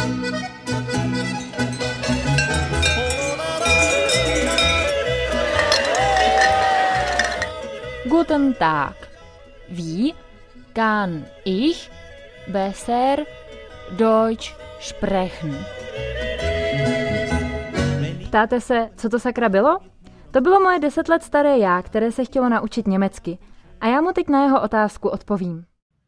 Guten Tag. Wie kann ich besser Deutsch sprechen? Ptáte se, co to sakra bylo? To bylo moje 10 let staré já, které se chtělo naučit německy. A já mu teď na jeho otázku odpovím.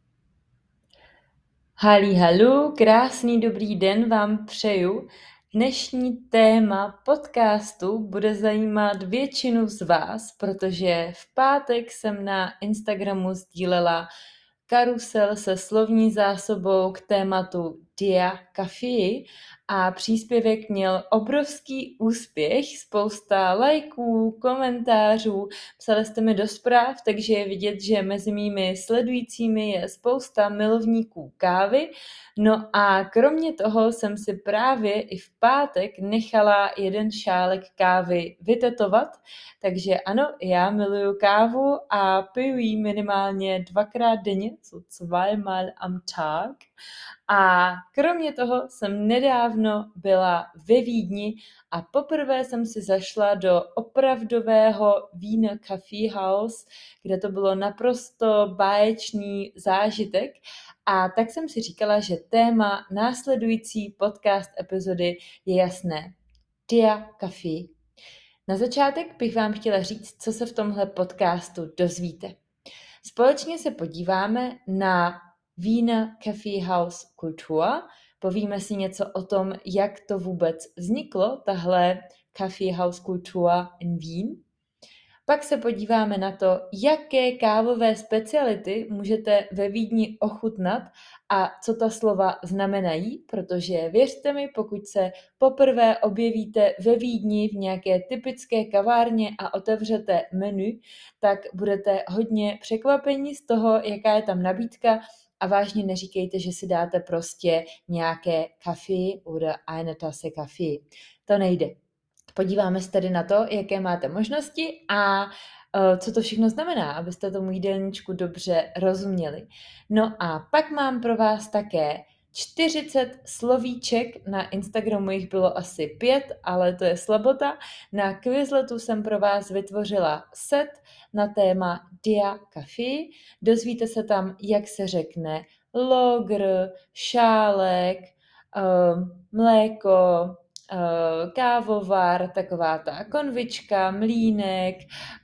Halí, krásný dobrý den vám přeju. Dnešní téma podcastu bude zajímat většinu z vás, protože v pátek jsem na Instagramu sdílela karusel se slovní zásobou k tématu Dia Café a příspěvek měl obrovský úspěch, spousta lajků, komentářů, psali jste mi do zpráv, takže je vidět, že mezi mými sledujícími je spousta milovníků kávy. No a kromě toho jsem si právě i v pátek nechala jeden šálek kávy vytetovat, takže ano, já miluju kávu a piju ji minimálně 2krát denně, so 2mal am Tag. A kromě toho jsem nedávno byla ve Vídni a poprvé jsem si zašla do opravdového Wiener Kaffeehaus, kde to bylo naprosto báječný zážitek. A tak jsem si říkala, že téma následující podcast epizody je jasné. Dia Café. Na začátek bych vám chtěla říct, co se v tomhle podcastu dozvíte. Společně se podíváme na Wiener Kaffeehaus Kultur, povíme si něco o tom, jak to vůbec vzniklo, tahle Kaffeehaus Kultur in Wien. Pak se podíváme na to, jaké kávové speciality můžete ve Vídni ochutnat a co ta slova znamenají, protože věřte mi, pokud se poprvé objevíte ve Vídni v nějaké typické kavárně a otevřete menu, tak budete hodně překvapeni z toho, jaká je tam nabídka a vážně neříkejte, že si dáte prostě nějaké kafe oder eine Tasse Kaffee. To nejde. Podíváme se tedy na to, jaké máte možnosti a co to všechno znamená, abyste tomu jídelníčku dobře rozuměli. No a pak mám pro vás také 40 slovíček, na Instagramu jich bylo asi 5, ale to je slabota. Na Quizletu jsem pro vás vytvořila set na téma Dia Café. Dozvíte se tam, jak se řekne logr, šálek, mléko, kávovar, taková ta konvička, mlýnek,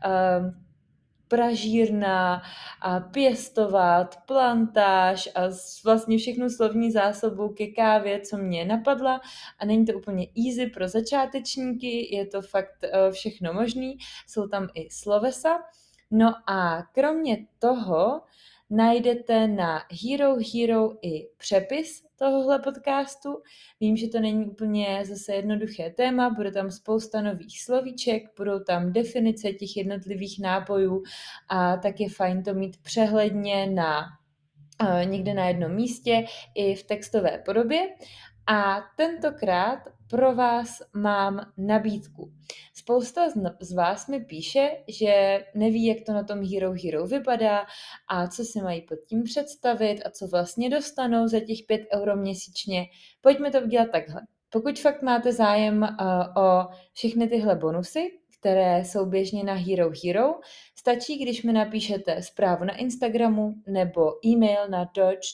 pražírna, a pěstovat, plantáž a vlastně všechnu slovní zásobu ke kávě, co mě napadla a není to úplně easy pro začátečníky, je to fakt všechno možný, jsou tam i slovesa. No a kromě toho najdete na Hero i přepis tohohle podcastu. Vím, že to není úplně zase jednoduché téma, bude tam spousta nových slovíček, budou tam definice těch jednotlivých nápojů a tak je fajn to mít přehledně někde na jednom místě i v textové podobě. A tentokrát pro vás mám nabídku. Spousta z vás mi píše, že neví, jak to na tom Hero vypadá a co si mají pod tím představit a co vlastně dostanou za těch 5 € měsíčně. Pojďme to udělat takhle. Pokud fakt máte zájem o všechny tyhle bonusy, které jsou běžně na Hero, stačí, když mi napíšete zprávu na Instagramu nebo e-mail na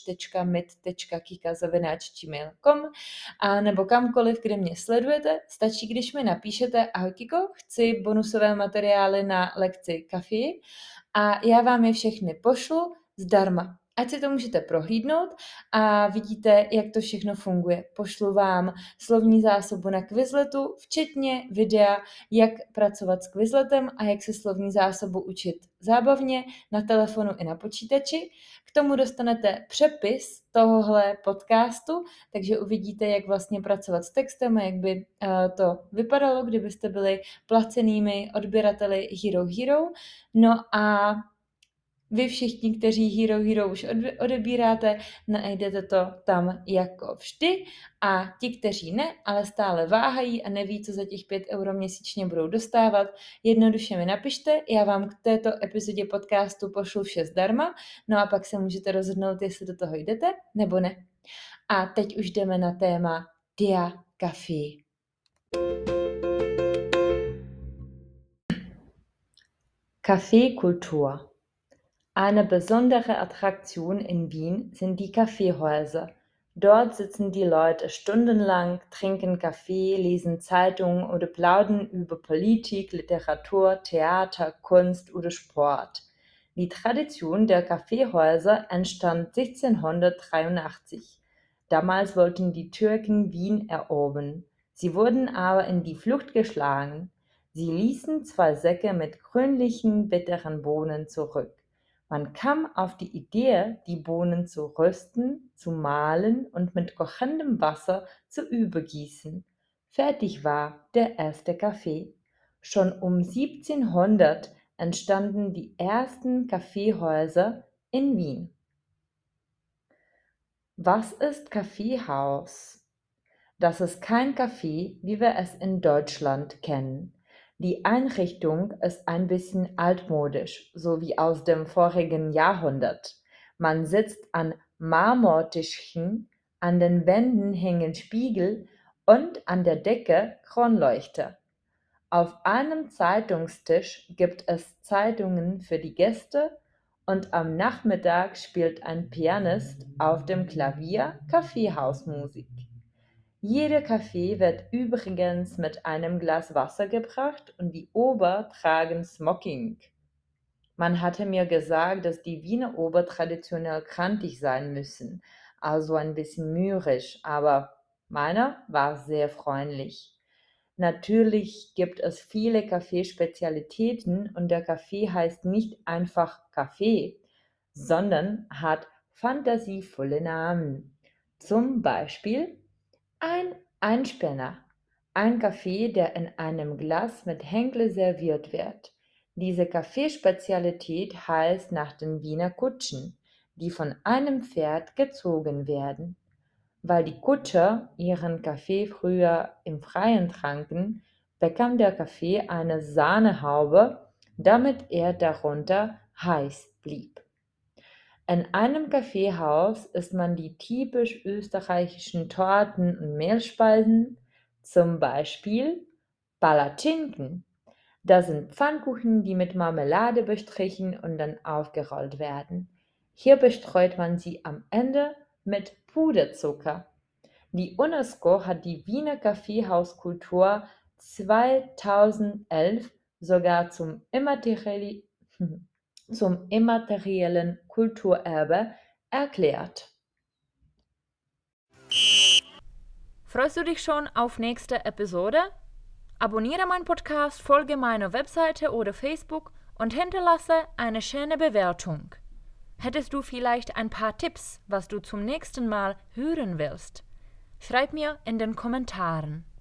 deutsch.mit.kika@gmail.com a nebo kamkoliv, kde mě sledujete, stačí, když mi napíšete ahoj Kiko, chci bonusové materiály na lekci kafí a já vám je všechny pošlu zdarma. Ať si to můžete prohlídnout a vidíte, jak to všechno funguje. Pošlu vám slovní zásobu na Quizletu, včetně videa, jak pracovat s Quizletem a jak se slovní zásobu učit zábavně na telefonu i na počítači. K tomu dostanete přepis tohohle podcastu, takže uvidíte, jak vlastně pracovat s textem a jak by to vypadalo, kdybyste byli placenými odběrateli Hero. No a vy všichni, kteří Hero už odebíráte, najdete to tam jako vždy a ti, kteří ne, ale stále váhají a neví, co za těch 5 € měsíčně budou dostávat, jednoduše mi napište, já vám k této epizodě podcastu pošlu vše zdarma, no a pak se můžete rozhodnout, jestli do toho jdete nebo ne. A teď už jdeme na téma der Kaffee. Kaffeekultur. Eine besondere Attraktion in Wien sind die Kaffeehäuser. Dort sitzen die Leute stundenlang, trinken Kaffee, lesen Zeitungen oder plaudern über Politik, Literatur, Theater, Kunst oder Sport. Die Tradition der Kaffeehäuser entstand 1683. Damals wollten die Türken Wien erobern. Sie wurden aber in die Flucht geschlagen. Sie ließen 2 Säcke mit grünlichen, bitteren Bohnen zurück. Man kam auf die Idee, die Bohnen zu rösten, zu mahlen und mit kochendem Wasser zu übergießen. Fertig war der erste Kaffee. Schon um 1700 entstanden die ersten Kaffeehäuser in Wien. Was ist Kaffeehaus? Das ist kein Kaffee, wie wir es in Deutschland kennen. Die Einrichtung ist ein bisschen altmodisch, so wie aus dem vorigen Jahrhundert. Man sitzt an Marmortischchen, an den Wänden hängen Spiegel und an der Decke Kronleuchter. Auf einem Zeitungstisch gibt es Zeitungen für die Gäste und am Nachmittag spielt ein Pianist auf dem Klavier Kaffeehausmusik. Jeder Kaffee wird übrigens mit einem Glas Wasser gebracht und die Ober tragen Smoking. Man hatte mir gesagt, dass die Wiener Ober traditionell krantig sein müssen, also ein bisschen mürrisch, aber meiner war sehr freundlich. Natürlich gibt es viele Kaffeespezialitäten und der Kaffee heißt nicht einfach Kaffee, sondern hat fantasievolle Namen. Zum Beispiel ein Einspänner, ein Kaffee, der in einem Glas mit Henkel serviert wird. Diese Kaffeespezialität heißt nach den Wiener Kutschen, die von einem Pferd gezogen werden. Weil die Kutscher ihren Kaffee früher im Freien tranken, bekam der Kaffee eine Sahnehaube, damit er darunter heiß blieb. In einem Kaffeehaus isst man die typisch österreichischen Torten und Mehlspeisen, zum Beispiel Palatschinken. Das sind Pfannkuchen, die mit Marmelade bestrichen und dann aufgerollt werden. Hier bestreut man sie am Ende mit Puderzucker. Die UNESCO hat die Wiener Kaffeehauskultur 2011 sogar zum immateriellen Kulturerbe erklärt. Freust du dich schon auf nächste Episode? Abonniere meinen Podcast, folge meiner Webseite oder Facebook und hinterlasse eine schöne Bewertung. Hättest du vielleicht ein paar Tipps, was du zum nächsten Mal hören willst? Schreib mir in den Kommentaren.